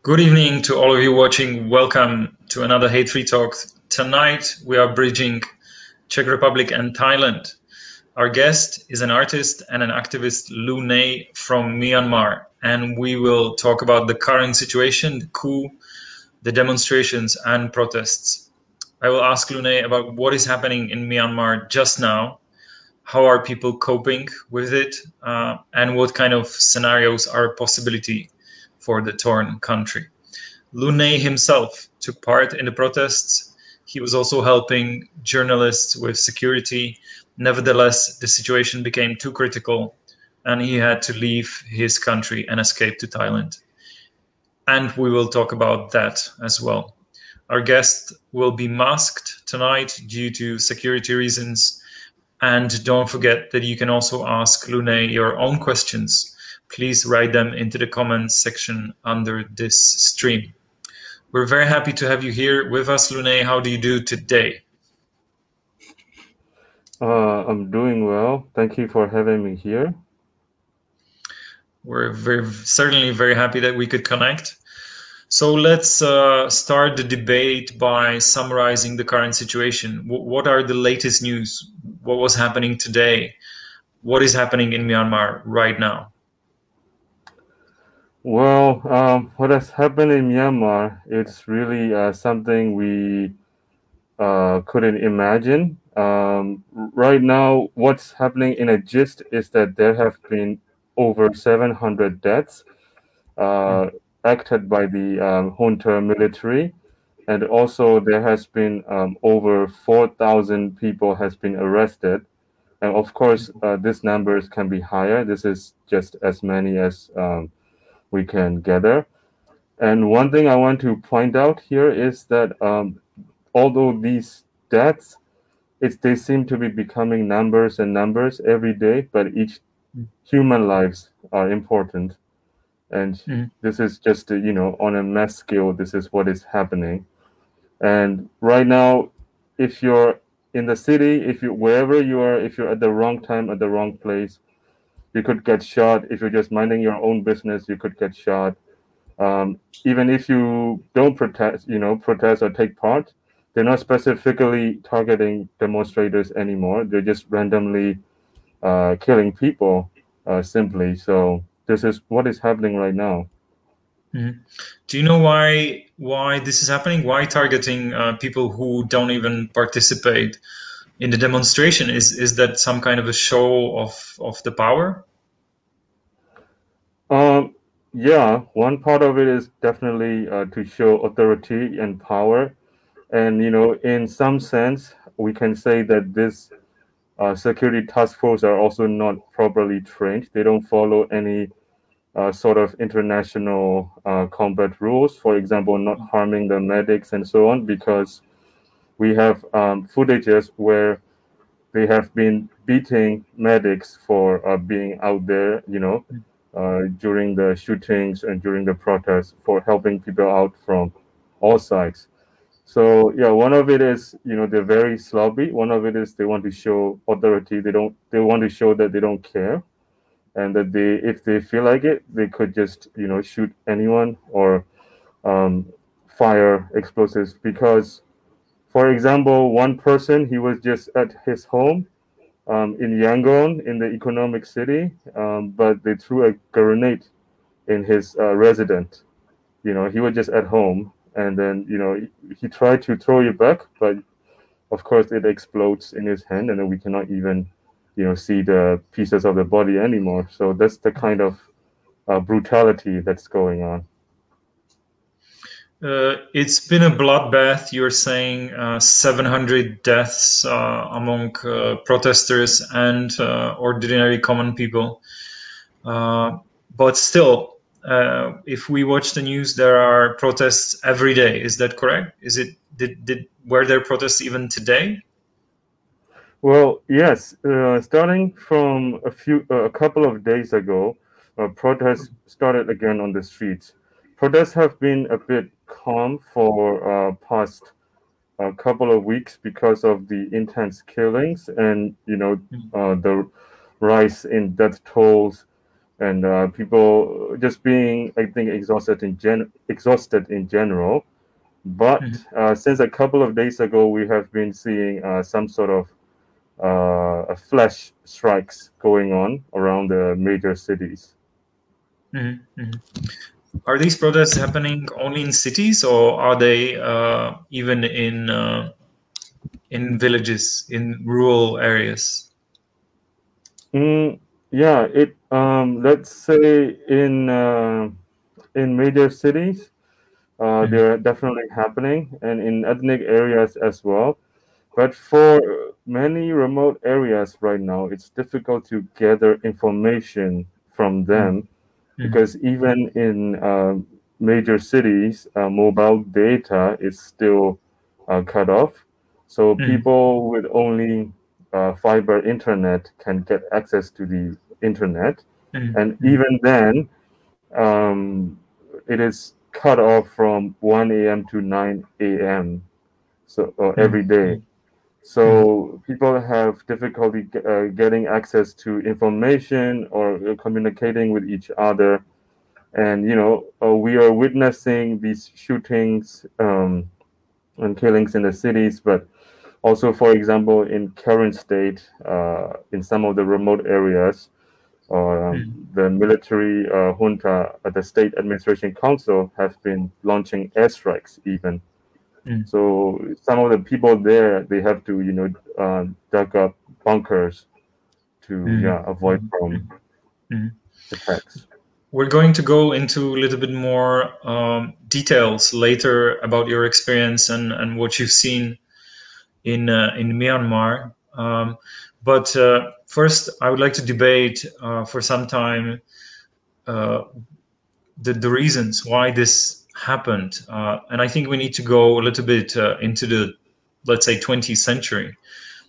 Good evening to all of you watching. Welcome to another Hate Free Talk. Tonight we are bridging Czech Republic and Thailand. Our guest is an artist and an activist, Lu Nai from Myanmar, and we will talk about the current situation, the coup, the demonstrations and protests. I will ask Lu Nai about what is happening in Myanmar just now, how are people coping with it, and what kind of scenarios are a possibility for the torn country. Lu Nai himself took part in the protests. He was also helping journalists with security. Nevertheless, the situation became too critical and he had to leave his country and escape to Thailand. And we will talk about that as well. Our guest will be masked tonight due to security reasons. And don't forget that you can also ask Lu Nai your own questions. Please write them into the comments section under this stream. We're very happy to have you here with us, Lu Nai. How do you do today? I'm doing well. Thank you for having me here. We're certainly very happy that we could connect. So let's start the debate by summarizing the current situation. What are the latest news? What was happening today? What is happening in Myanmar right now? Well, what has happened in Myanmar, it's really something we couldn't imagine. Right now, what's happening in a gist is that there have been over 700 deaths acted by the junta military, and also there has been over 4,000 people has been arrested. And of course, these numbers can be higher. This is just as many as we can gather. And one thing I want to point out here is that although these deaths, they seem to be becoming numbers and numbers every day, but each human lives are important. And this is just, on a mass scale, this is what is happening. And right now, if you're in the city, wherever you are, if you're at the wrong time, at the wrong place, you could get shot. If you're just minding your own business, you could get shot. Even if you don't protest or take part, they're not specifically targeting demonstrators anymore. They're just randomly killing people simply. So this is what is happening right now. Do you know why this is happening? Why targeting people who don't even participate in the demonstration? Is that some kind of a show of the power? Yeah, one part of it is definitely to show authority and power. And, in some sense, we can say that this security task force are also not properly trained. They don't follow any sort of international combat rules, for example, not harming the medics and so on, because we have footages where they have been beating medics for being out there, during the shootings and during the protests for helping people out from all sides. So yeah, one of it is, they're very sloppy. One of it is they want to show authority. They want to show that they don't care, and that if they feel like it, they could just, shoot anyone or fire explosives. Because, for example, one person, he was just at his home in Yangon, in the economic city, but they threw a grenade in his residence. He was just at home, and then he tried to throw it back, but of course it explodes in his hand, and then we cannot even see the pieces of the body anymore. So that's the kind of brutality that's going on. It's been a bloodbath. You're saying 700 deaths among protesters and ordinary common people. But still, if we watch the news, there are protests every day. Is that correct? Were there protests even today? Well, yes. Starting from a couple of days ago, protests started again on the streets. Protests have been a bit calm for past a couple of weeks because of the intense killings and the rise in death tolls and people just being, I think, exhausted in general. But since a couple of days ago, we have been seeing some sort of flash strikes going on around the major cities. Are these protests happening only in cities, or are they even in villages, in rural areas? Yeah, let's say in major cities, they're definitely happening, and in ethnic areas as well. But for many remote areas right now, it's difficult to gather information from them because even in major cities, mobile data is still cut off. So people with only fiber internet can get access to the internet. And even then, it is cut off from 1 a.m. to 9 a.m. So every day. So people have difficulty getting access to information or communicating with each other. And we are witnessing these shootings and killings in the cities, but also, for example, in Karen State, in some of the remote areas, the military junta, the State Administration Council, have been launching airstrikes even. So some of the people there, they have to, dug up bunkers to avoid from attacks. We're going to go into a little bit more details later about your experience and what you've seen in Myanmar. But first, I would like to debate for some time the reasons why this happened. And I think we need to go a little bit into the, let's say, 20th century.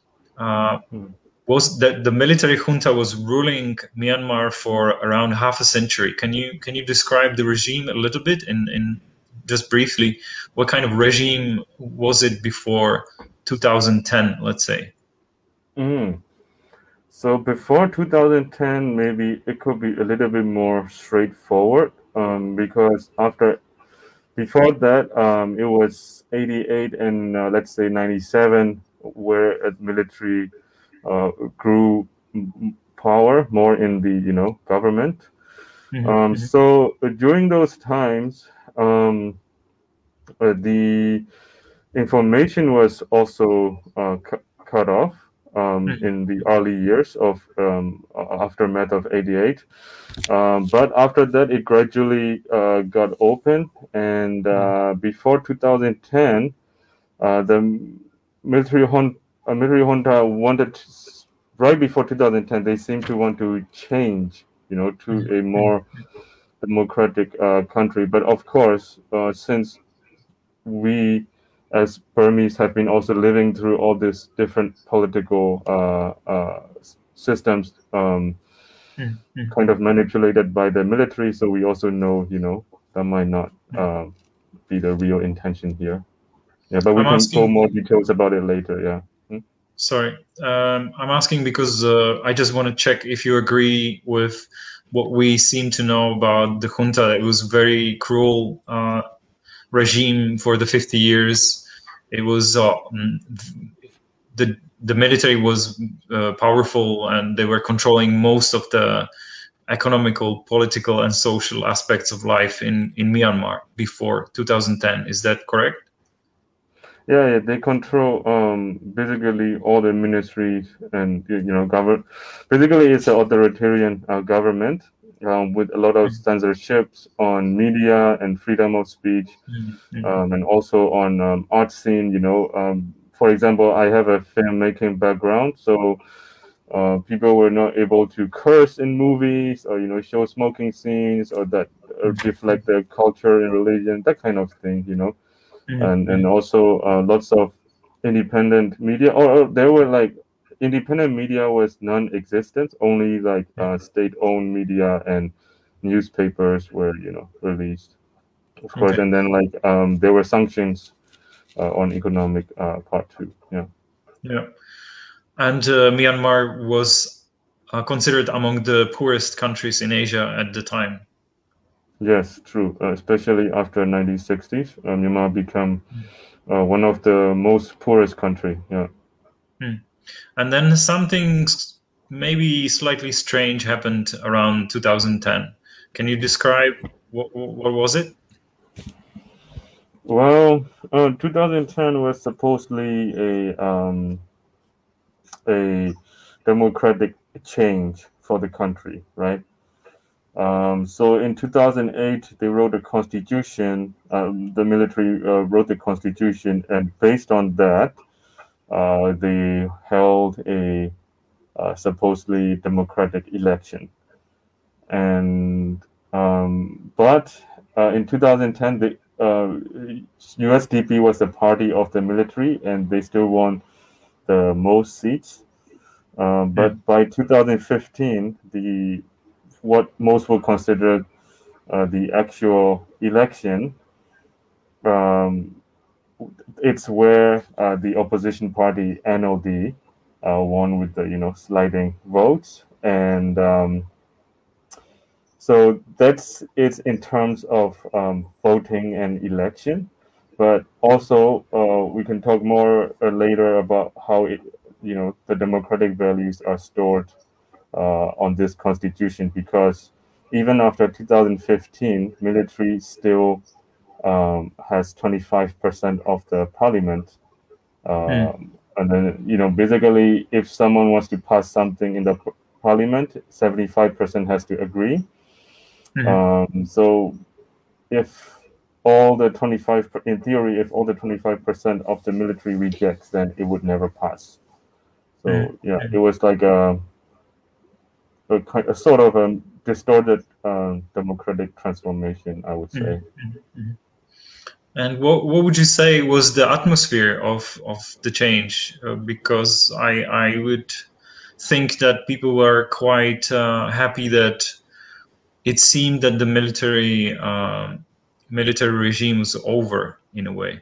Was that the military junta was ruling Myanmar for around half a century? Can you describe the regime a little bit in just briefly? What kind of regime was it before 2010, let's say? So before 2010, maybe it could be a little bit more straightforward because before that, it was 88 and let's say 97, where military grew power more in the government. So during those times, the information was also cut off in the early years of aftermath of 88. But after that, it gradually got open, and before 2010, the military junta wanted, right before 2010, they seemed to want to change, to a more democratic country. But of course, since we as Burmese have been also living through all these different political systems kind of manipulated by the military, so we also know, that might not be the real intention here. Yeah, but we can go more details about it later, yeah. Sorry, I'm asking because I just want to check if you agree with what we seem to know about the junta. It was very cruel regime for the 50 years. It was the military was powerful, and they were controlling most of the economical, political, and social aspects of life in Myanmar before 2010. Is that correct? Yeah, they control basically all the ministries and government. Basically, it's an authoritarian government with a lot of censorships on media and freedom of speech, and also on art scene. For example, I have a filmmaking background, so people were not able to curse in movies or show smoking scenes or that reflect their culture and religion, that kind of thing. And also lots of independent media, or there were like independent media was non-existent, only like state-owned media and newspapers were released, of course. And then like there were sanctions on economic part too. And Myanmar was considered among the poorest countries in Asia at the time. Yes, true. Especially after 1960s, Myanmar became one of the most poorest country. Yeah. And then something maybe slightly strange happened around 2010. Can you describe what was it? Well, 2010 was supposedly a democratic change for the country, right? So in 2008, they wrote a constitution. The military wrote the constitution, and based on that, they held a supposedly democratic election. And but in 2010, the USDP was the party of the military, and they still won the most seats. But by 2015, the what most will consider the actual election, it's where the opposition party NLD won with the sliding votes, and so that's it in terms of voting and election. But also we can talk more later about how the democratic values are stored on this constitution, because even after 2015, military still has 25% of the parliament. And then, basically, if someone wants to pass something in the parliament, 75% has to agree. So if all the 25, in theory, if all the 25% of the military rejects, then it would never pass. So yeah, it was like a sort of a distorted democratic transformation, I would say. And what would you say was the atmosphere of the change? Because I would think that people were quite happy that it seemed that the military regime was over in a way.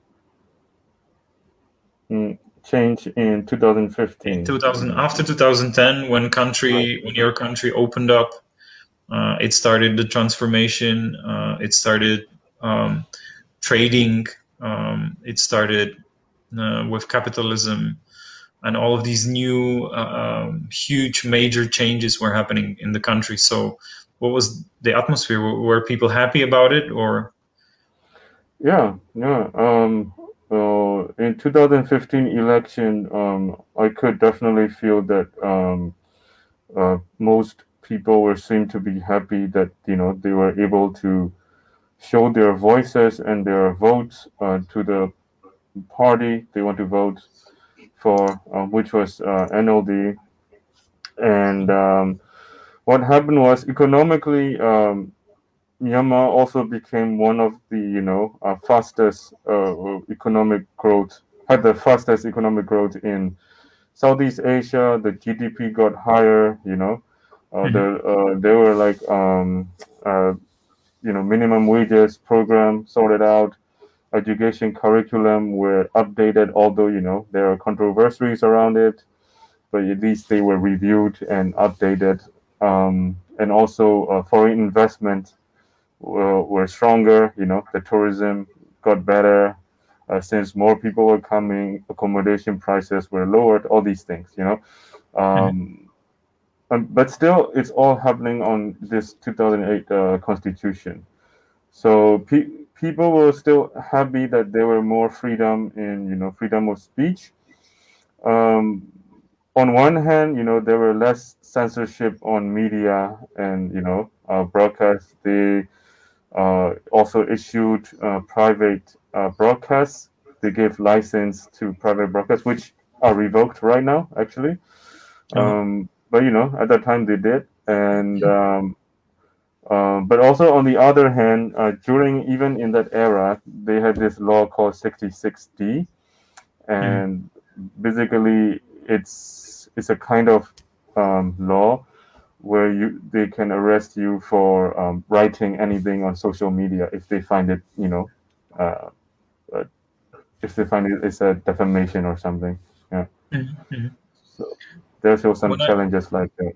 Change in 2015. After 2010, when your country opened up, it started the transformation. It started trading. It started with capitalism, and all of these new huge major changes were happening in the country. So what was the atmosphere? Were people happy about it, or? Yeah. In 2015 election, I could definitely feel that most people seemed to be happy that they were able to show their voices and their votes to the party they want to vote for, which was NLD. And what happened was, economically, Myanmar also became one of the fastest economic growth, had the fastest economic growth in Southeast Asia. The GDP got higher. There were like minimum wages program sorted out. Education curriculum were updated, although there are controversies around it, but at least they were reviewed and updated. And also foreign investment were stronger. The tourism got better since more people were coming. Accommodation prices were lowered. All these things. But still, it's all happening on this 2008 constitution. So people were still happy that there were more freedom in freedom of speech. On one hand, there were less censorship on media and broadcasts. They also issued private broadcasts. They gave license to private broadcasts, which are revoked right now, actually. But at that time they did. And but also on the other hand, even in that era, they had this law called 66D, and basically it's a kind of law where they can arrest you for writing anything on social media if they find it, if they find it's a defamation or something. Yeah. So there's still some challenges like that.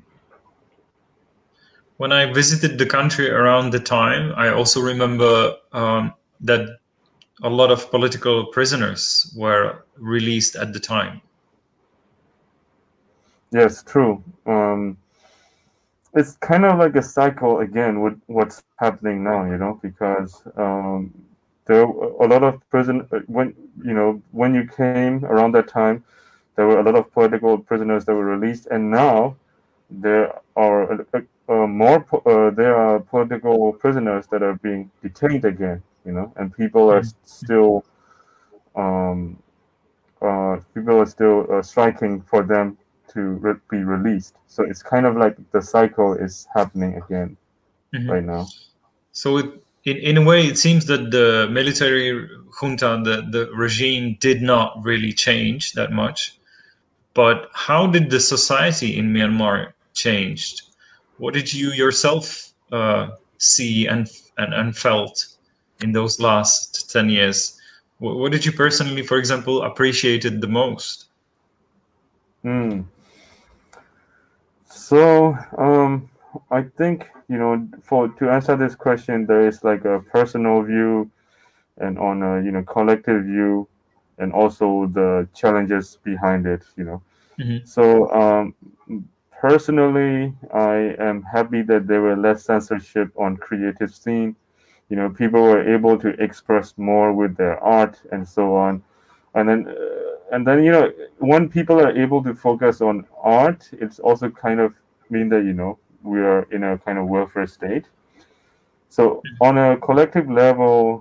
When I visited the country around the time, I also remember that a lot of political prisoners were released at the time. Yes, true. It's kind of like a cycle again with what's happening now, because there were a lot of when you came around that time, there were a lot of political prisoners that were released, and now there are there are political prisoners that are being detained again, and people are still striking for them to be released. So it's kind of like the cycle is happening again right now. So in a way, it seems that the military junta, the regime, did not really change that much. But how did the society in Myanmar change? What did you yourself see and felt in those last 10 years? What did you personally, for example, appreciated the most? So I think to answer this question, there is like a personal view, and on a collective view, and also the challenges behind it. So personally, I am happy that there were less censorship on creative scene. People were able to express more with their art and so on. And then when people are able to focus on art, it's also kind of mean that we are in a kind of welfare state. So on a collective level,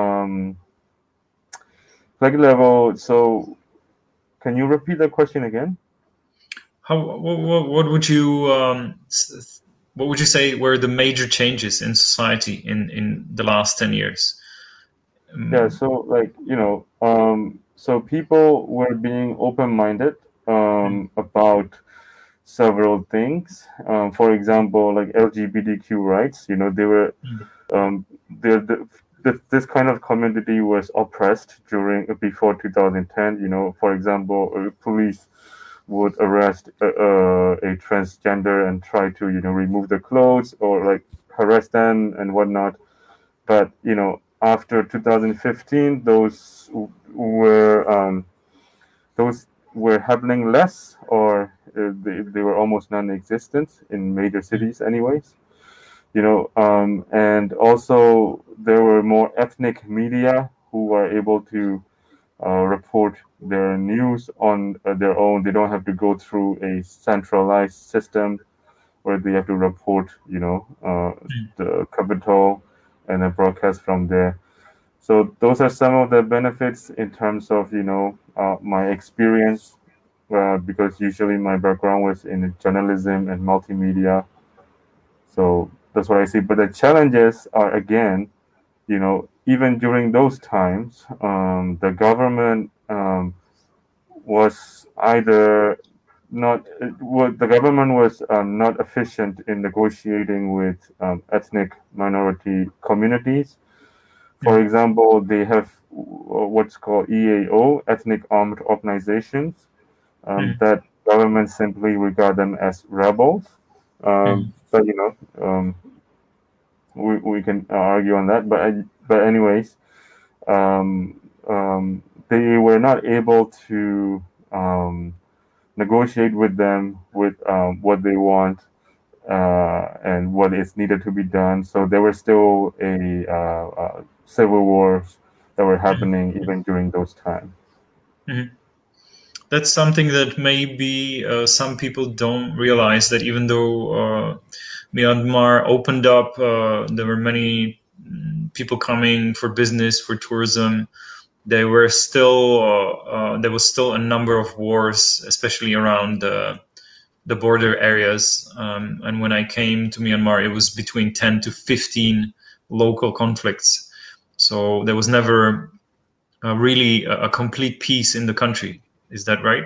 so can you repeat the question again? What would you say were the major changes in society in the last 10 years? Yeah, so so people were being open-minded about several things. For example, like LGBTQ rights. They were this kind of community was oppressed before 2010. For example, police would arrest a transgender and try to remove the clothes or like harass them and whatnot. But after 2015, those were happening less, or they were almost non-existent in major cities, anyways. And also there were more ethnic media who were able to report their news on their own. They don't have to go through a centralized system where they have to report, the capital and then broadcast from there. So those are some of the benefits in terms of my experience, because usually my background was in journalism and multimedia. So that's what I see. But the challenges are, again, even during those times, the government was either not the government was not efficient in negotiating with ethnic minority communities. For example, they have what's called EAO, ethnic armed organizations, that government simply regard them as rebels. But we can argue on that. But anyways, they were not able to negotiate with them with what they want and what is needed to be done. So there were still a civil wars that were happening even during those times. That's something that maybe some people don't realize, that even though Myanmar opened up, there were many people coming for business, for tourism. There was still a number of wars, especially around the border areas. And when I came to Myanmar, it was between 10 to 15 local conflicts. So there was never really a complete peace in the country. Is that right?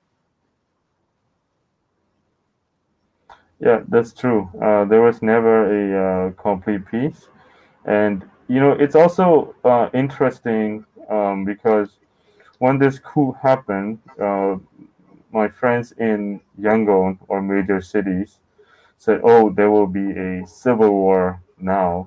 Yeah, that's true. There was never a complete peace. And, it's also interesting because when this coup happened, my friends in Yangon or major cities said, "Oh, there will be a civil war now,"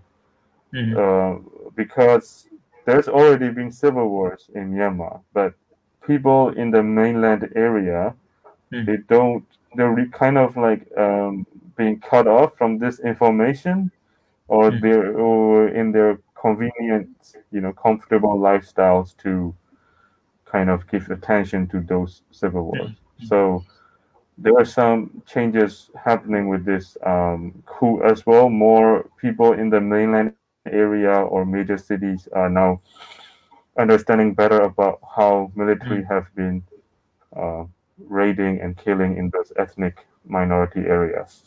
because there's already been civil wars in Myanmar, but people in the mainland area, they don't. They're kind of like being cut off from this information, or they're in their convenient, comfortable lifestyles to kind of give attention to those civil wars. So there are some changes happening with this coup as well. More people in the mainland area or major cities are now understanding better about how military have been raiding and killing in those ethnic minority areas.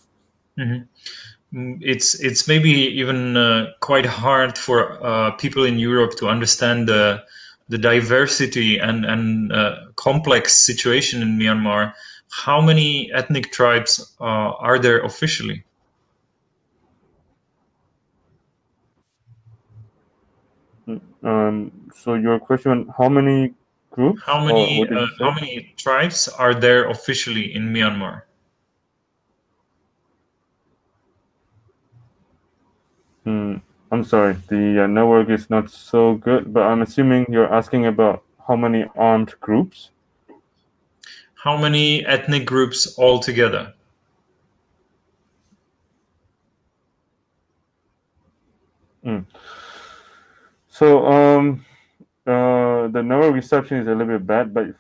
It's maybe even quite hard for people in Europe to understand the diversity and complex situation in Myanmar. How many ethnic tribes are there officially? So your question, how many groups? How Or many what did you say? how many tribes are there officially in Myanmar? I'm sorry, the network is not so good, but I'm assuming you're asking about how many armed groups? How many ethnic groups altogether? So the network reception is a little bit bad, but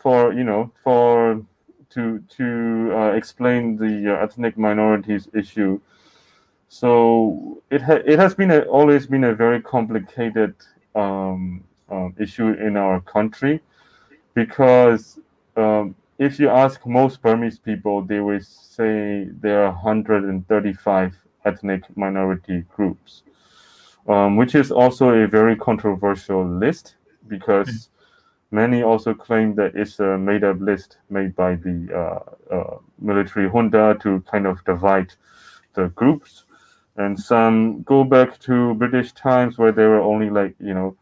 to explain the ethnic minorities issue. So it has been always been a very complicated issue in our country, because if you ask most Burmese people, they will say there are 135 ethnic minority groups, which is also a very controversial list, because many also claim that it's a made-up list made by the military junta to kind of divide the groups. And some go back to British times where there were only like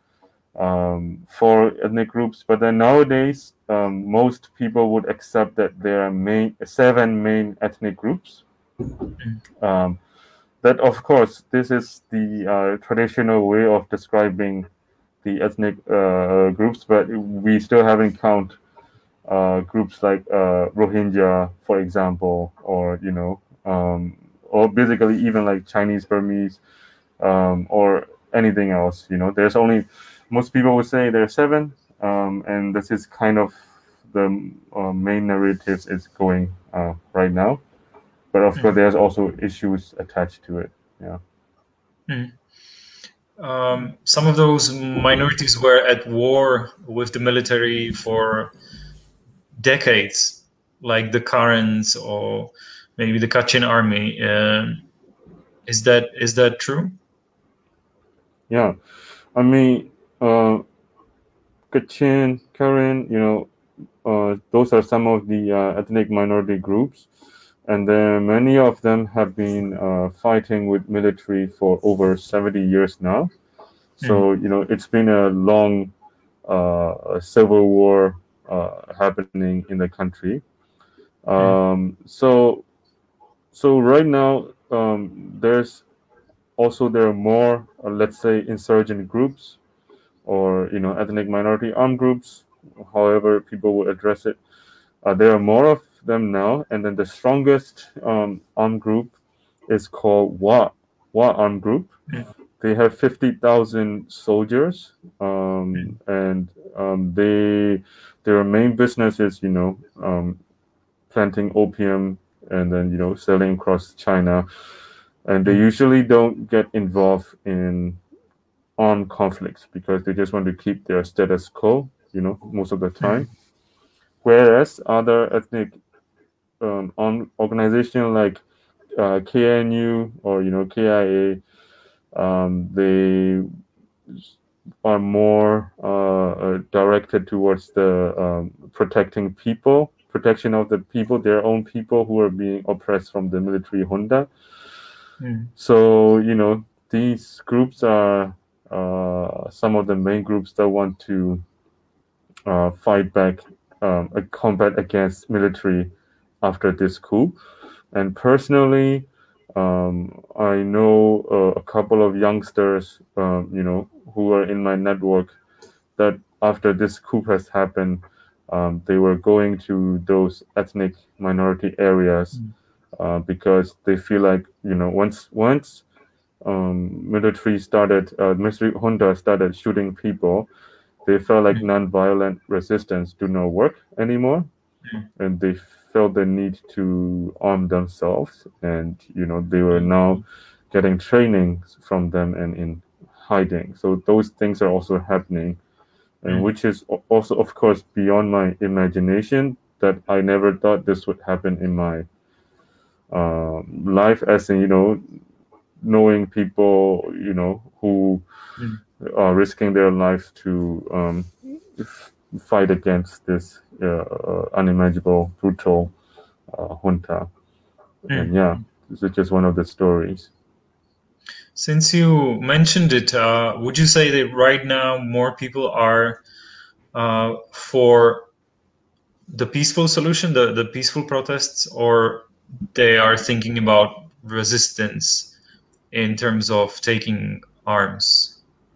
4 ethnic groups, but then nowadays most people would accept that there are 7 main ethnic groups. That, of course, this is the traditional way of describing the ethnic groups, but we still haven't count groups like Rohingya, for example, or or basically even like Chinese Burmese, or anything else. There's only, most people would say there are 7, and this is kind of the main narratives is going right now. But of course, there's also issues attached to it. Yeah. Some of those minorities were at war with the military for decades, like the Karens or maybe the Kachin army. Is that true? Yeah, I mean, Kachin, Karen, those are some of the ethnic minority groups, and then many of them have been fighting with military for over 70 years now. So it's been a long civil war happening in the country. So right now there are more, let's say, insurgent groups, or ethnic minority armed groups, however people would address it. There are more of them now, and then the strongest armed group is called Wa Armed Group. They have 50,000 soldiers, and their main business is planting opium and then selling across China, and they usually don't get involved in armed conflicts because they just want to keep their status quo, most of the time. Whereas other ethnic organizations like KNU or KIA, they are more directed towards the protection of the people, their own people who are being oppressed from the military junta. So these groups are some of the main groups that want to fight back a combat against military after this coup. And personally, I know a couple of youngsters, who are in my network that after this coup has happened, they were going to those ethnic minority areas because they feel like, once military junta started shooting people, they felt like non-violent resistance do not work anymore, and they felt the need to arm themselves, and they were now getting training from them and in hiding. So those things are also happening, and which is also, of course, beyond my imagination, that I never thought this would happen in my life, as in, knowing people, who are risking their lives to fight against this unimaginable, brutal junta. And yeah, this is just one of the stories. Since you mentioned it, would you say that right now more people are for the peaceful solution, the peaceful protests, or they are thinking about resistance in terms of taking arms?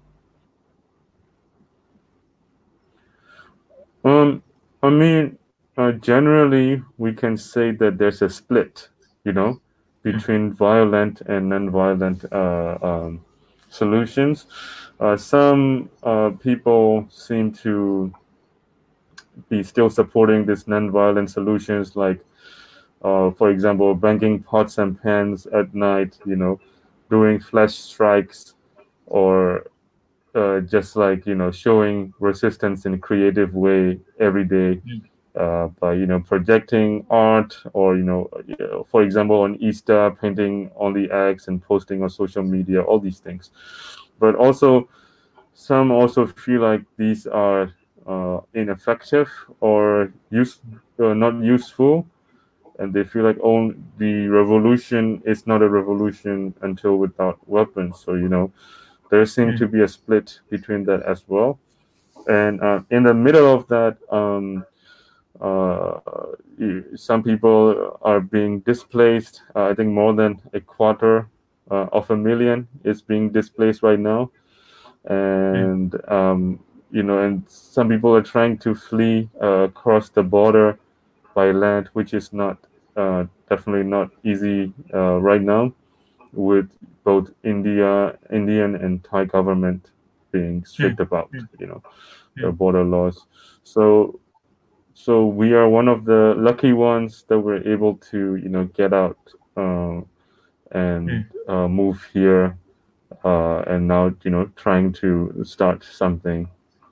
I mean, generally, we can say that there's a split, between violent and non-violent solutions. Some people seem to be still supporting these non-violent solutions, like, for example, banging pots and pans at night, doing flash strikes, or just like, showing resistance in a creative way every day, by projecting art, or for example, on Easter, painting on the eggs and posting on social media, all these things. But also, some also feel like these are ineffective or not useful, and they feel like, the revolution is not a revolution until without weapons. So there seems to be a split between that as well. And in the middle of that, some people are being displaced. I think more than a quarter of a million is being displaced right now. And and some people are trying to flee across the border by land, which is not definitely not easy right now, with both Indian and Thai government being strict about the border laws. So we are one of the lucky ones that were able to get out and move here, and now trying to start something,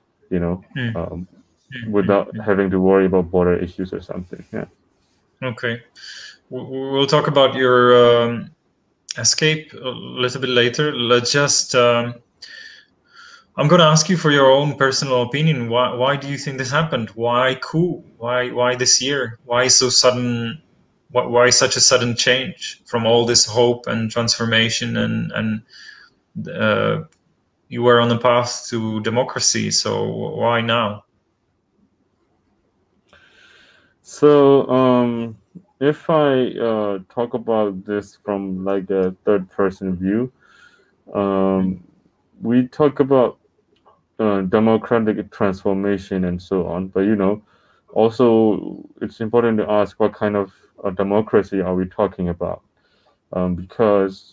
without having to worry about border issues or something. Yeah. Okay, we'll talk about your escape a little bit later. Let's just I'm going to ask you for your own personal opinion. Why do you think this happened? Why coup? Why this year? Why so sudden? Why such a sudden change from all this hope and transformation, and you were on the path to democracy, so why now? So if I talk about this from like a third person view, we talk about democratic transformation and so on, but also it's important to ask what kind of democracy are we talking about, because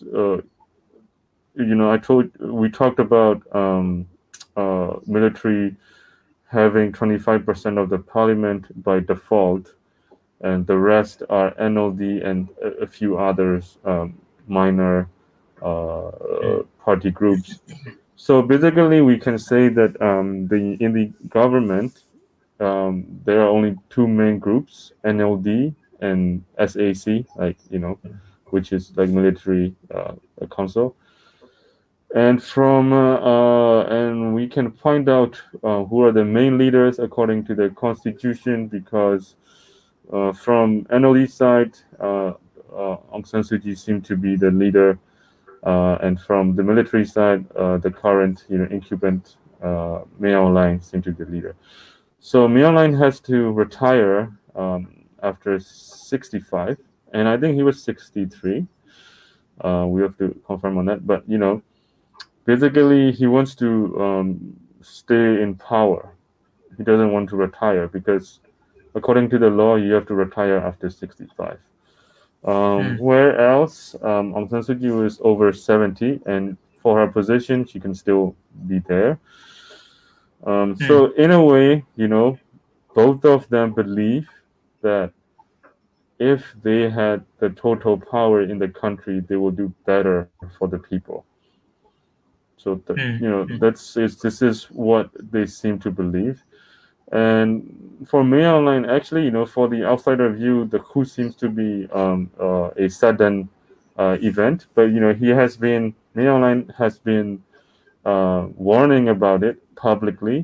we talked about military having 25% of the parliament by default, and the rest are NLD and a few others, minor party groups. So basically, we can say that in the government, there are only two main groups: NLD and SAC, which is like military council. And and we can find out who are the main leaders according to the constitution, because from NLD side, Aung San Suu Kyi seemed to be the leader. And from the military side, the current incumbent Mayor Line seemed to be the leader. So Miao Line has to retire after 65, and I think he was 63. We have to confirm on that, but basically he wants to stay in power. He doesn't want to retire because, according to the law, you have to retire after 65. Where else, Aung San Suu Kyi was over 70, and for her position, she can still be there. So in a way, both of them believe that if they had the total power in the country, they will do better for the people. So this is what they seem to believe. And for Mayo Line, actually, for the outsider view, the coup seems to be a sudden event. But Mayo Line has been warning about it publicly.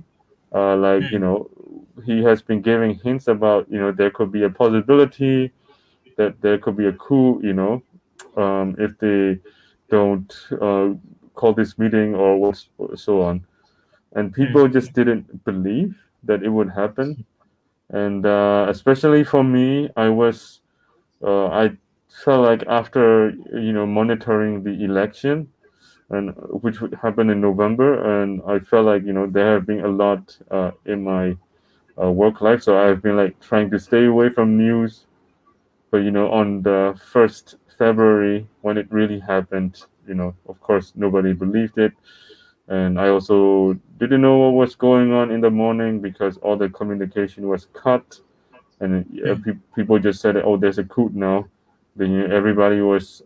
He has been giving hints about there could be a possibility that there could be a coup. If they don't call this meeting or so on, and people just didn't believe that it would happen. And especially for me, I felt like after monitoring the election, and which would happen in November, and I felt like there have been a lot in my work life, so I've been like trying to stay away from news. But on the 1st February, when it really happened, of course nobody believed it. And I also didn't know what was going on in the morning because all the communication was cut, and people just said, "Oh, there's a coup now." Then everybody was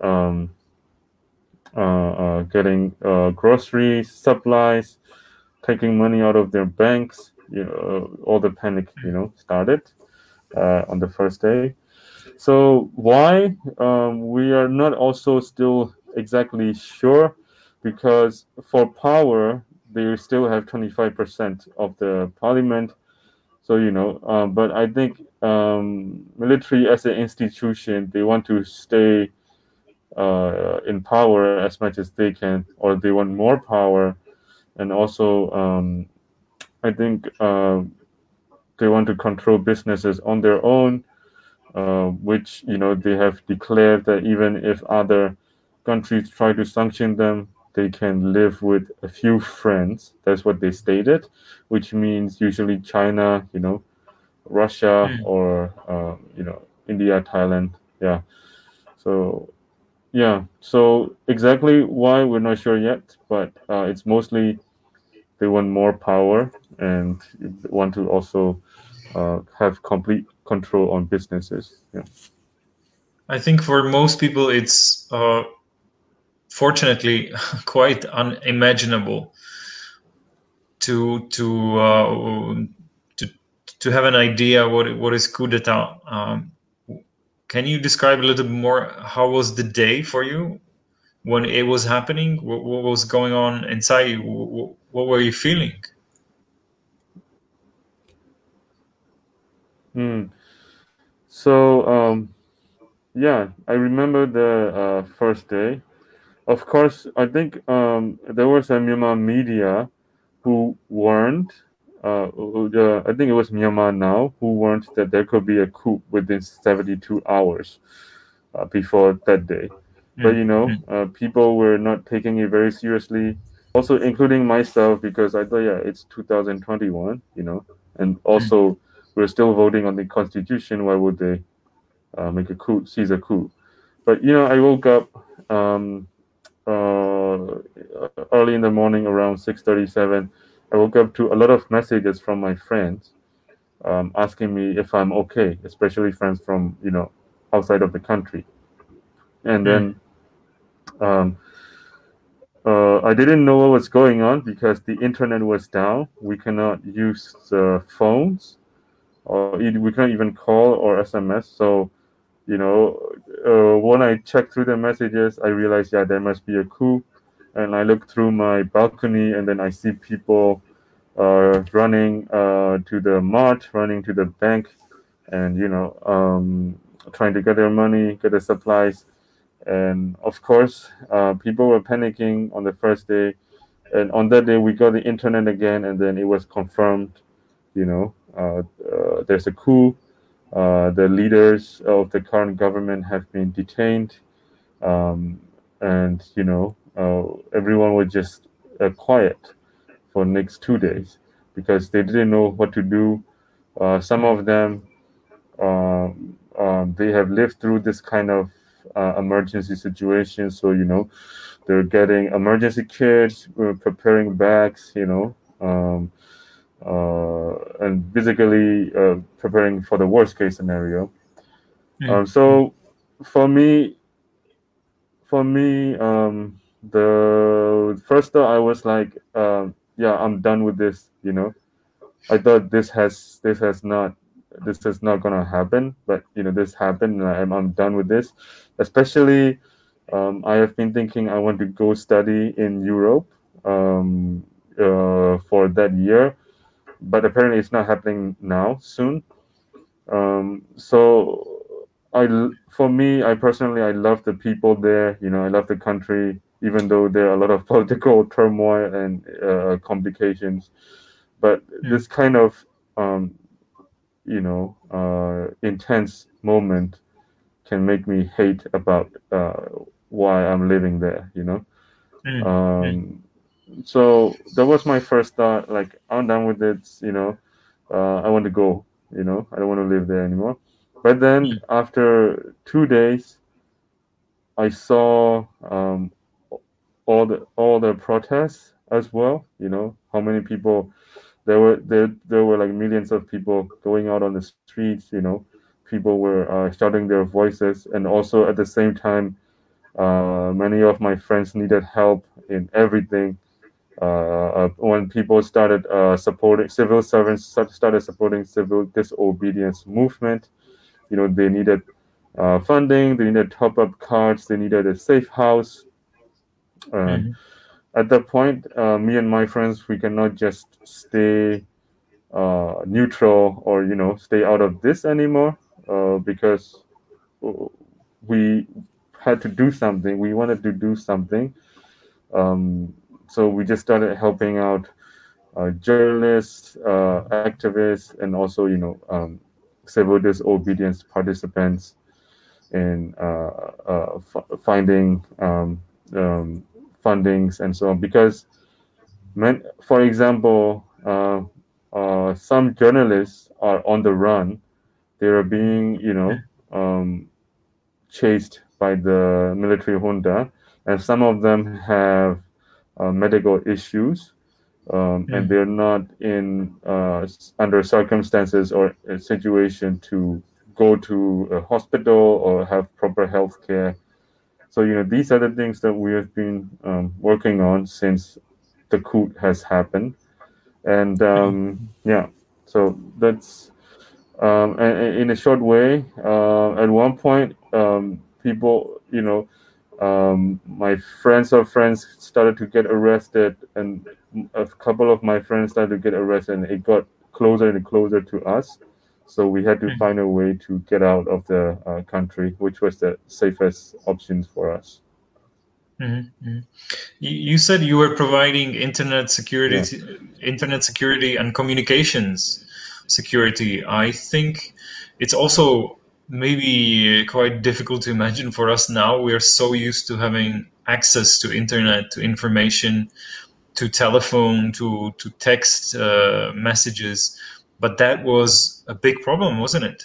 getting groceries, supplies, taking money out of their banks. All the panic, started on the first day. So why we are not also still exactly sure, because for power they still have 25% of the parliament. So but I think military as an institution, they want to stay in power as much as they can, or they want more power, and also I think they want to control businesses on their own. Which they have declared that even if other countries try to sanction them, they can live with a few friends. That's what they stated, which means usually China, Russia, or India, Thailand. Yeah. So exactly why we're not sure yet, but it's mostly they want more power and want to also have complete control on businesses. Yeah. I think for most people, it's fortunately quite unimaginable to have an idea what is coup d'état. Can you describe a little bit more how was the day for you when it was happening? What was going on inside you? What were you feeling? So yeah, I remember the first day. Of course, I think there was a Myanmar media who warned. I think it was Myanmar Now who warned that there could be a coup within 72 hours before that day. But people were not taking it very seriously. Also, including myself, because I thought, yeah, it's 2021, and also we're still voting on the constitution. Why would they make a coup, seize a coup? But I woke up early in the morning around 6:37. I woke up to a lot of messages from my friends asking me if I'm okay, especially friends from outside of the country. And then I didn't know what was going on because the internet was down. We cannot use the phones, or we can't even call or SMS. So when I checked through the messages, I realized, yeah, there must be a coup. And I look through my balcony, and then I see people running to the mart, running to the bank, and trying to get their money, get the supplies. And of course, people were panicking on the first day. And on that day, we got the internet again, and then it was confirmed, there's a coup. The leaders of the current government have been detained, and everyone was just quiet for next 2 days because they didn't know what to do. Some of them they have lived through this kind of emergency situation, so they're getting emergency kits, preparing bags, and basically preparing for the worst case scenario. So for me, the first thought I was like, yeah, I'm done with this. I thought this is not gonna happen, but this happened, and I'm done with this. Especially, I have been thinking I want to go study in Europe for that year, but apparently it's not happening now soon. So for me, I personally, I love the people there. I love the country, even though there are a lot of political turmoil and complications. But this kind of intense moment can make me hate about why I'm living there. So that was my first thought. Like, I'm done with it. I want to go. I don't want to live there anymore. But then after 2 days, I saw all the protests as well. How many people there were like millions of people going out on the streets. People were shouting their voices, and also at the same time, many of my friends needed help in everything. When people started supporting civil servants, started supporting civil disobedience movement. They needed funding, they needed top-up cards, they needed a safe house. And at that point, me and my friends, we cannot just stay neutral or stay out of this anymore, because we had to do something. We wanted to do something. So we just started helping out journalists, activists, and also civil disobedience participants in finding fundings and so on. Because, for example, some journalists are on the run. They are being chased by the military junta, and some of them have medical issues, and they're not in under circumstances or a situation to go to a hospital or have proper health care. So these are the things that we have been working on since the coup has happened. And yeah, so that's and in a short way. At one point, people, my friends of friends started to get arrested, and a couple of my friends started to get arrested, and it got closer and closer to us. So we had to find a way to get out of the country, which was the safest option for us. You said you were providing internet security and communications security. I think it's also maybe quite difficult to imagine for us now. We are so used to having access to internet, to information, to telephone, to text messages, but that was a big problem, wasn't it?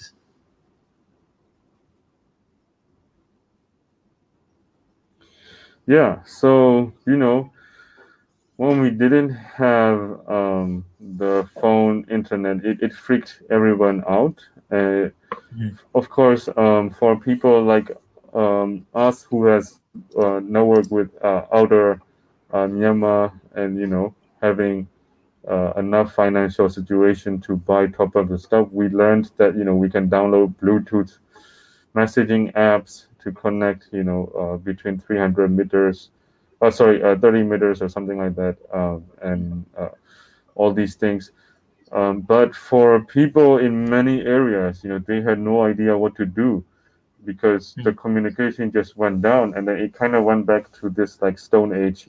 Yeah, so when we didn't have the phone internet, it freaked everyone out. Of course, for people like us who has network with outer Myanmar, and having enough financial situation to buy top of the stuff, we learned that we can download Bluetooth messaging apps to connect between 300 meters, 30 meters or something like that, and all these things. But for people in many areas, they had no idea what to do, because the communication just went down, and then it kind of went back to this like Stone Age,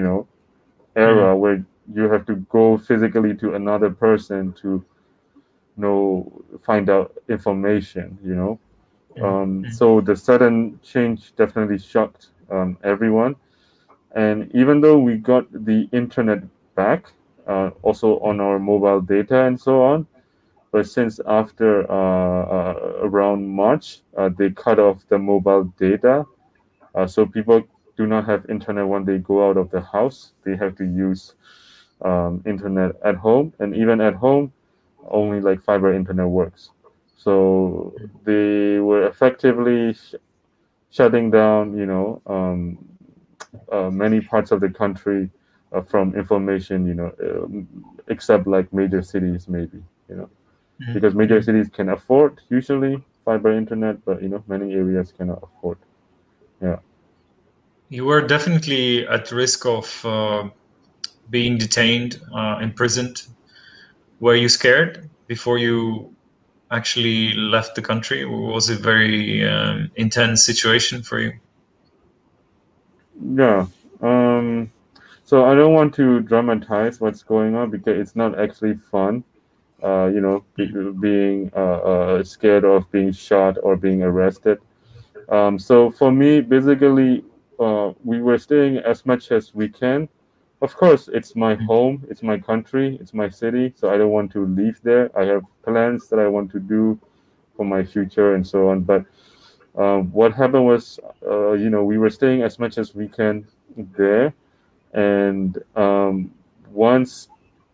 era where you have to go physically to another person to find out information, So the sudden change definitely shocked everyone. And even though we got the internet back, also on our mobile data and so on, but since after around March, they cut off the mobile data. So people do not have internet when they go out of the house. They have to use internet at home, and even at home, only like fiber internet works. So they were effectively shutting down, many parts of the country from information, except like major cities, maybe, because major cities can afford usually fiber internet, but many areas cannot afford. Yeah. You were definitely at risk of being detained, imprisoned. Were you scared before you actually left the country? Was it a very intense situation for you? Yeah. So I don't want to dramatize what's going on because it's not actually fun. Being scared of being shot or being arrested. So for me, basically, we were staying as much as we can. Of course, it's my home, it's my country, it's my city, so I don't want to leave there. I have plans that I want to do for my future and so on. But what happened was, we were staying as much as we can there, and once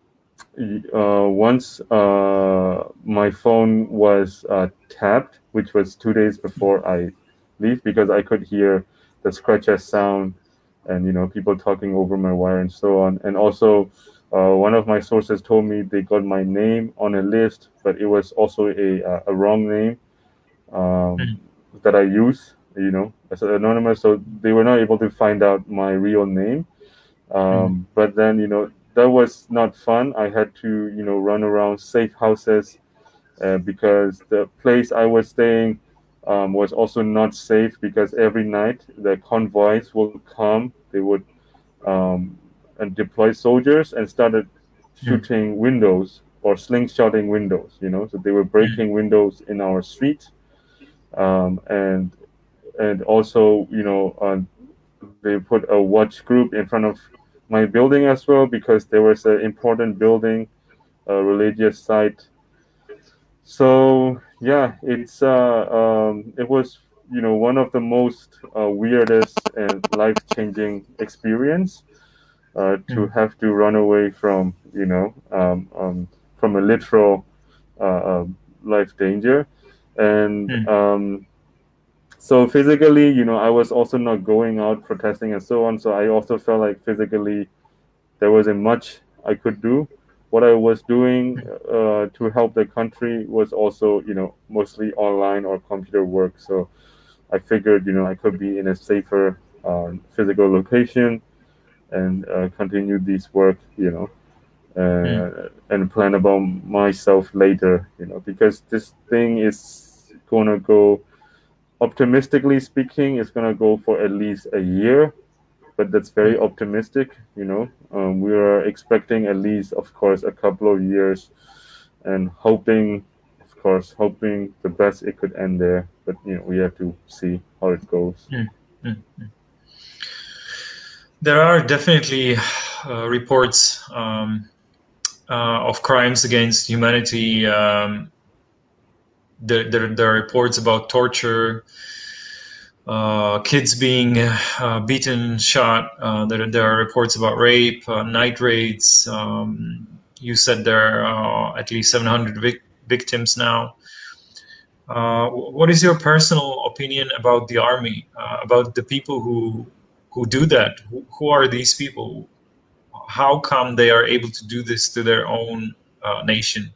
my phone was tapped, which was 2 days before I leave, because I could hear the scratches sound and people talking over my wire and so on. And also, one of my sources told me they got my name on a list, but it was also a wrong name that I use, as an anonymous. So they were not able to find out my real name. But then, that was not fun. I had to, run around safe houses because the place I was staying was also not safe, because every night the convoys would come. They would and deploy soldiers and started shooting windows or slingshotting windows. So they were breaking windows in our street, and also, they put a watch group in front of my building as well, because there was an important building, a religious site. So yeah, it was one of the most weirdest and life-changing experience to have to run away from from a literal life danger. And so physically, I was also not going out protesting and so on. So I also felt like physically there wasn't much I could do. What I was doing to help the country was also, mostly online or computer work. So I figured, I could be in a safer physical location and continue this work, and plan about myself later, because this thing is gonna go, optimistically speaking, it's gonna go for at least a year, but that's very optimistic. We are expecting at least, of course, a couple of years, and hoping the best it could end there. But we have to see how it goes. There are definitely reports of crimes against humanity. There are reports about torture, kids being beaten, shot. There are reports about rape, night raids. You said there are at least 700 victims now. What is your personal opinion about the army, about the people who do that? Who are these people? How come they are able to do this to their own nation?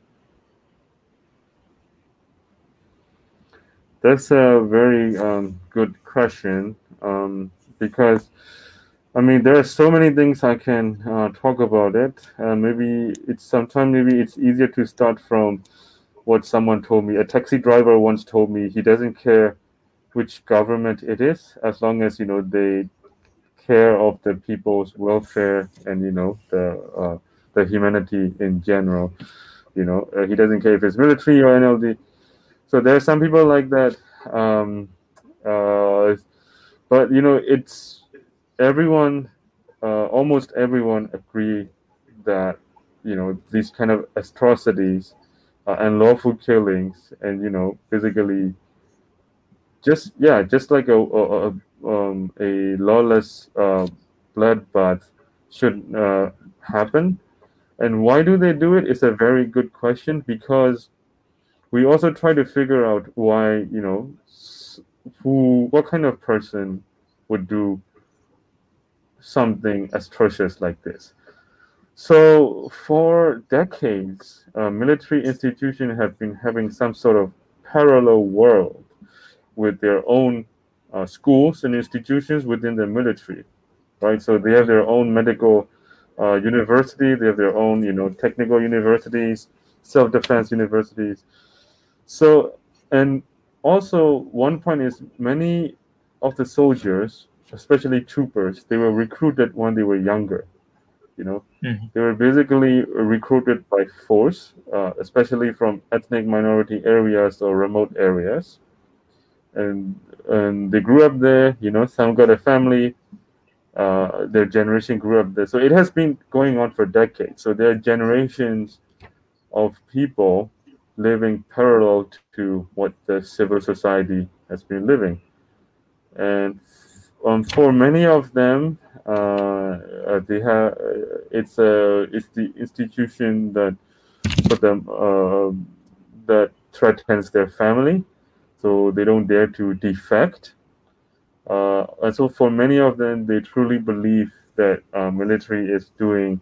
That's a very good question, because there are so many things I can talk about it. Maybe it's easier to start from what someone told me. A taxi driver once told me he doesn't care which government it is, as long as they care of the people's welfare and the humanity in general. He doesn't care if it's military or NLD. So there are some people like that. But it's everyone, almost everyone agree that these kind of atrocities and lawful killings, and basically just like a lawless bloodbath should happen. And why do they do it? It's a very good question, because we also try to figure out why, what kind of person would do something atrocious like this. So for decades, military institutions have been having some sort of parallel world with their own schools and institutions within the military, right? So they have their own medical university, they have their own, technical universities, self-defense universities. So, and also one point is many of the soldiers, especially troopers, they were recruited when they were younger. They were basically recruited by force, especially from ethnic minority areas or remote areas. And they grew up there, some got a family, their generation grew up there. So it has been going on for decades. So there are generations of people living parallel to what the civil society has been living. And for many of them, they have it's the institution that for them that threatens their family, so they don't dare to defect. And so for many of them, they truly believe that military is doing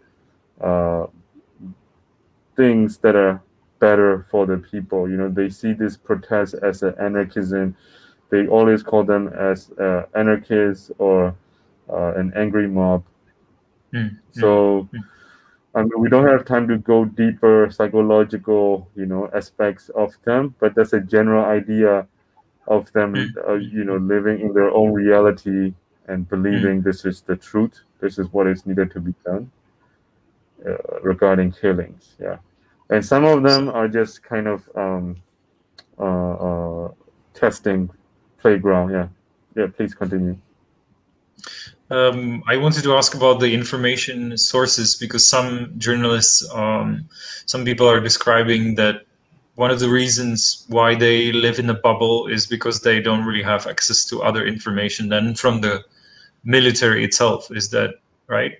things that are better for the people. They see this protest as an anarchism. They always call them as anarchists or an angry mob. So I mean, we don't have time to go deeper psychological, aspects of them, but that's a general idea of them, living in their own reality and believing this is the truth. This is what is needed to be done regarding killings. Yeah, and some of them are just kind of testing playground. Yeah. Please continue. I wanted to ask about the information sources, because some journalists, some people are describing that one of the reasons why they live in a bubble is because they don't really have access to other information than from the military itself. Is that right?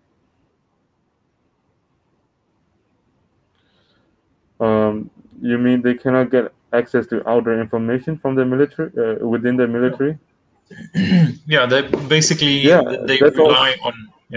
You mean they cannot get access to outer information from the military, within the military? Yeah, they basically they rely on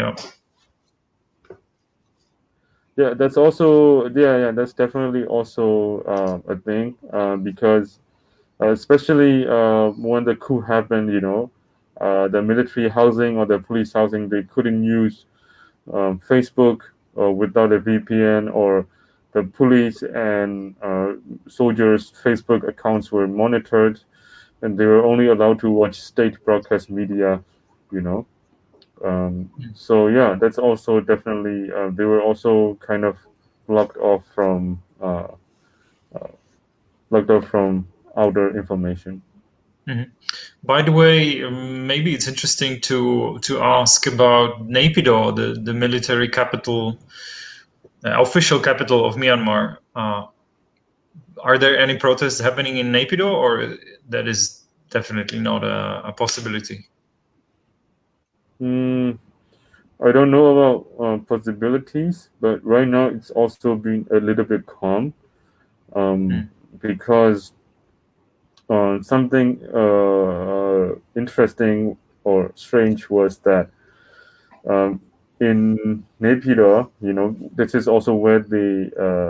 Yeah, that's also that's definitely also a thing, because especially when the coup happened, the military housing or the police housing, they couldn't use Facebook without a VPN, or the police and soldiers' Facebook accounts were monitored, and they were only allowed to watch state broadcast media, So yeah, that's also definitely they were also kind of blocked off from outer information. By the way, maybe it's interesting to ask about Naypyidaw, the military capital, official capital of Myanmar. Are there any protests happening in Naypyidaw, or that is definitely not a possibility? I don't know about possibilities, but right now it's also been a little bit calm, because something interesting or strange was that in Naypyidaw, this is also where they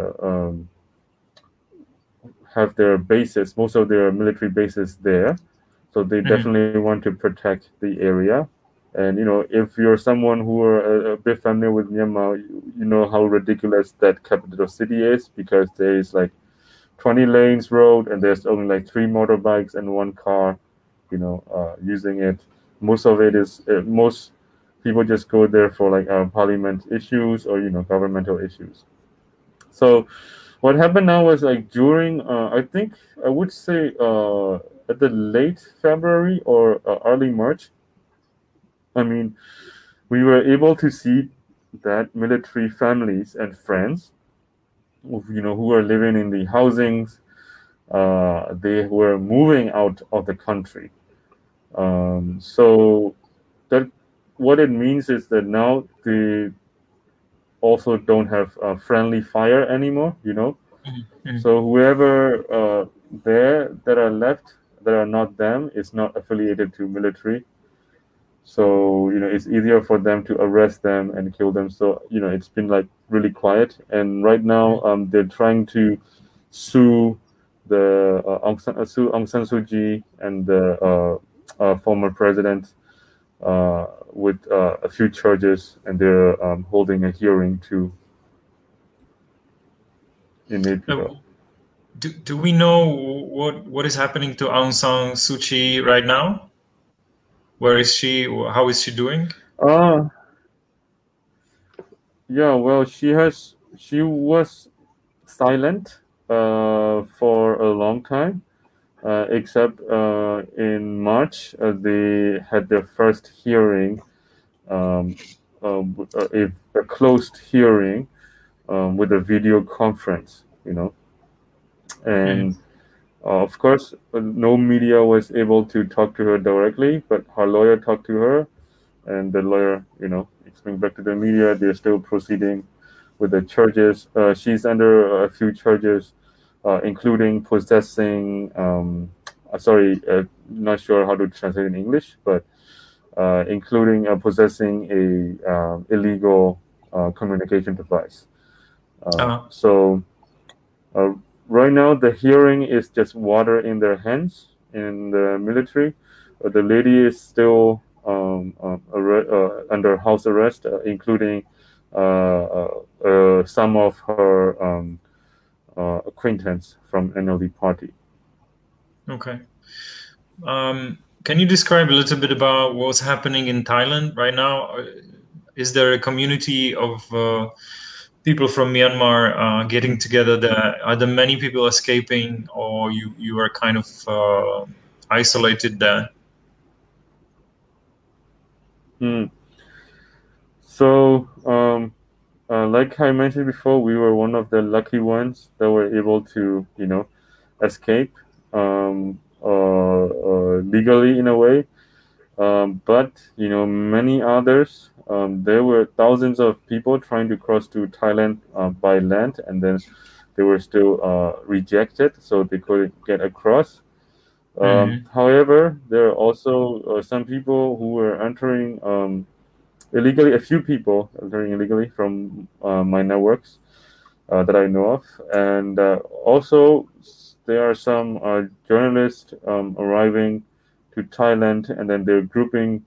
have their bases, most of their military bases there. So they definitely want to protect the area. And, if you're someone who are a bit familiar with Myanmar, you know how ridiculous that capital city is, because there is like 20 lanes road and there's only like 3 motorbikes and 1 car, using it. Most of it is, most people just go there for like parliament issues or, governmental issues. So what happened now was like during, I think I would say at the late February or early March. I mean, we were able to see that military families and friends, who are living in the housings, they were moving out of the country. So that what it means is that now they also don't have friendly fire anymore. So whoever there that are left that are not them is not affiliated to military. So it's easier for them to arrest them and kill them. So it's been like really quiet. And right now they're trying to sue the Aung San Suu Kyi and the former president with a few charges, and they're holding a hearing too in April. Do we know what is happening to Aung San Suu Kyi right now? Where is she? How is she doing? Yeah, well, she was silent for a long time, except in March they had their first hearing, a closed hearing with a video conference, and of course no media was able to talk to her directly, but her lawyer talked to her, and the lawyer, explained back to the media they're still proceeding with the charges. She's under a few charges, including possessing. Sorry, not sure how to translate in English, but including possessing a illegal communication device. So right now the hearing is just water in their hands in the military. The lady is still under house arrest, including some of her acquaintance from NLD party. Okay. Can you describe a little bit about what's happening in Thailand right now? Is there a community of people from Myanmar getting together there? Are there many people escaping, or you are kind of isolated there? So, like I mentioned before, we were one of the lucky ones that were able to, escape legally in a way. But many others, there were thousands of people trying to cross to Thailand by land, and then they were still rejected, so they couldn't get across. However, there are also some people who were entering illegally. A few people entering illegally from my networks that I know of, and also there are some journalists arriving to Thailand, and then they're grouping,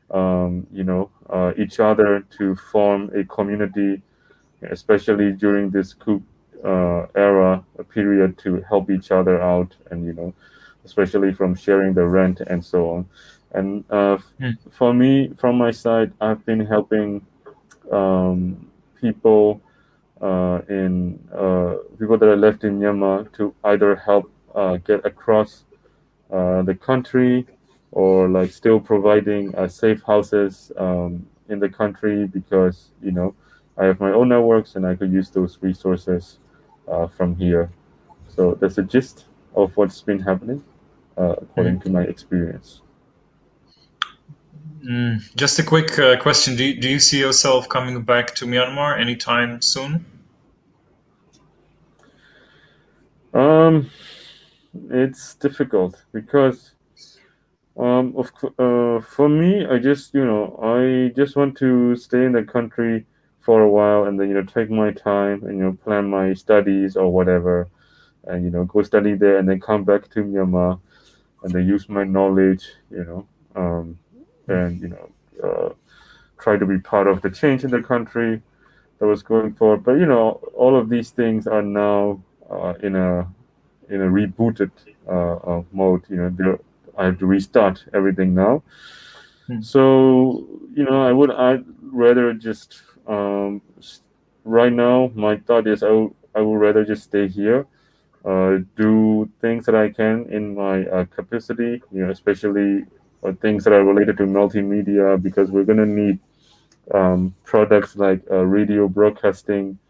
each other to form a community, especially during this coup era period, to help each other out, and especially from sharing the rent and so on. And for me, from my side, I've been helping people people that are left in Myanmar to either help get across the country, or like still providing safe houses in the country, because I have my own networks and I could use those resources from here. So that's the gist of what's been happening according to my experience. Just a quick question: Do you see yourself coming back to Myanmar anytime soon? It's difficult because for me, I just want to stay in the country for a while, and then take my time and plan my studies or whatever, and go study there, and then come back to Myanmar, and then use my knowledge, and try to be part of the change in the country that was going forward. But all of these things are now in a rebooted mode. I have to restart everything now. So I'd rather just right now my thought is I I would rather just stay here, do things that I can in my capacity, especially things that are related to multimedia, because we're going to need products like radio broadcasting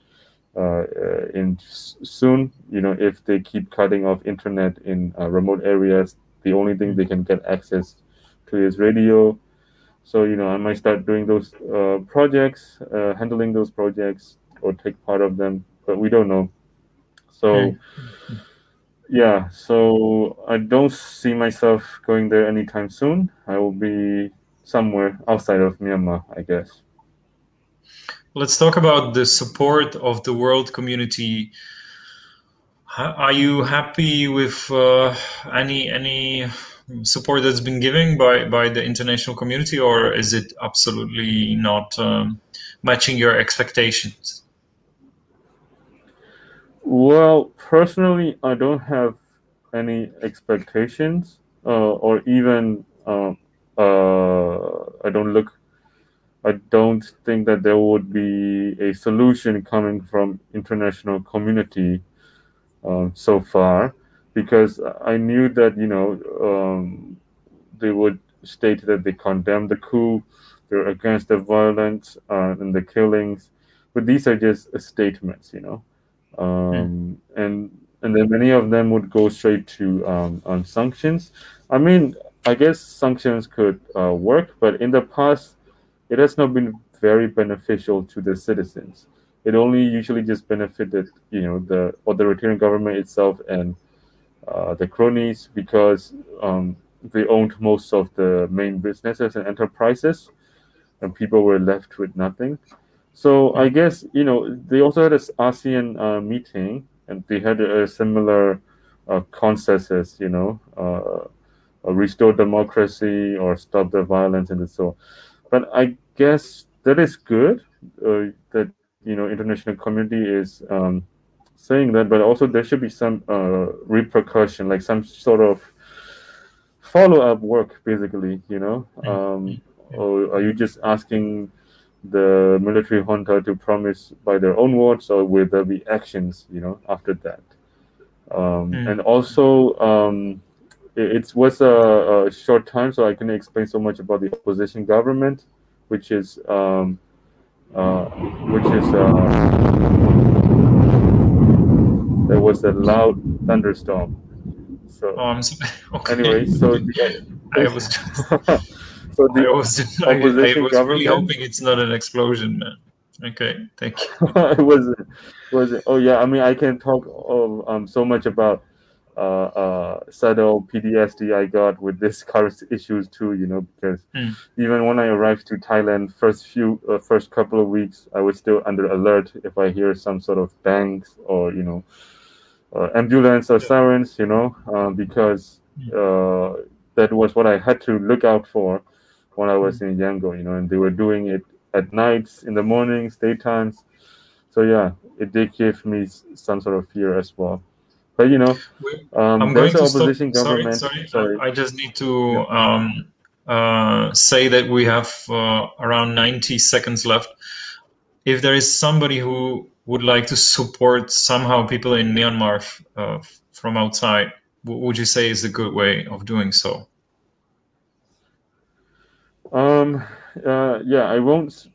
soon. If they keep cutting off internet in remote areas, the only thing they can get access to is radio. So I might start doing those projects, handling those projects, or take part of them, but we don't know. So yeah, so I don't see myself going there anytime soon. I will be somewhere outside of Myanmar, I guess. Let's talk about the support of the world community. Are you happy with any support that's been given by the international community, or is it absolutely not matching your expectations? Well, personally, I don't have any expectations, or even I don't think that there would be a solution coming from international community so far, because I knew that they would state that they condemn the coup, they're against the violence and the killings, but these are just statements, and then many of them would go straight to on sanctions. I mean, I guess sanctions could work, but in the past, it has not been very beneficial to the citizens. It only usually just benefited, the authoritarian government itself and the cronies, because they owned most of the main businesses and enterprises, and people were left with nothing. So I guess they also had this ASEAN meeting, and they had a similar consensus, restore democracy or stop the violence and so. But I guess that is good that international community is saying that, but also there should be some repercussion, like some sort of follow-up work, basically. Or are you just asking the military junta to promise by their own words, or will there be actions after that? And also it was a short time, so I couldn't explain so much about the opposition government, which is there was a loud thunderstorm. So I'm sorry. Okay. Anyway, so I was just, so the I was opposition really government. hoping it's not an explosion, man. Okay, thank you. It wasn't. Oh yeah, I mean, I can talk of so much about subtle PTSD I got with this current issues too, because even when I arrived to Thailand, first couple of weeks, I was still under alert if I hear some sort of bangs or ambulance or sirens, because that was what I had to look out for when I was in Yangon, and they were doing it at nights, in the mornings, daytimes. So yeah, it did give me some sort of fear as well. But I'm there's going an to opposition stop. government. Sorry. I just need to say that we have around 90 seconds left. If there is somebody who would like to support somehow people in Myanmar from outside, what would you say is a good way of doing so? Yeah, I won't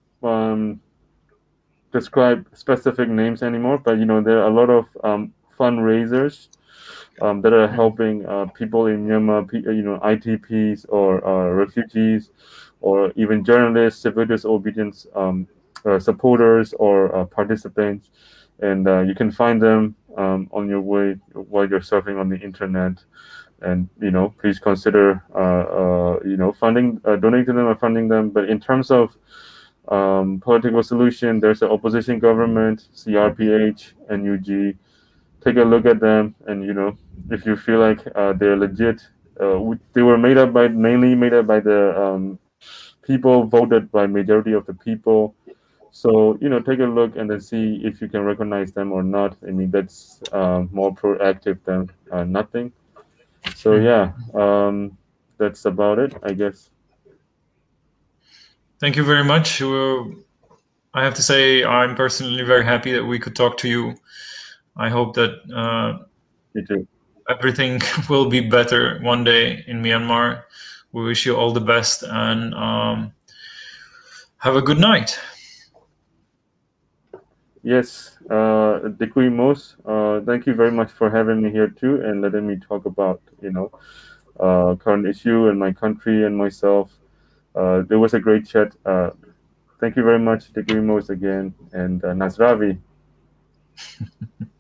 describe specific names anymore, but there are a lot of fundraisers that are helping people in Myanmar, ITPs or refugees, or even journalists, civil disobedience supporters or participants, and you can find them on your way while you're surfing on the internet. And please consider funding, donating to them or funding them. But in terms of political solution, there's an opposition government, CRPH, NUG. Take a look at them, and if you feel like they're legit, they were mainly made up by the people, voted by majority of the people. So take a look and then see if you can recognize them or not. I mean, that's more proactive than nothing. So yeah, that's about it, I guess. Thank you very much. I have to say I'm personally very happy that we could talk to you. I hope that Me too. everything will be better one day in Myanmar. We wish you all the best and have a good night. Yes, Dekui Mos, thank you very much for having me here too and letting me talk about, current issue in my country and myself. There was a great chat. Thank you very much, Dekui Mos again, and Nasravi.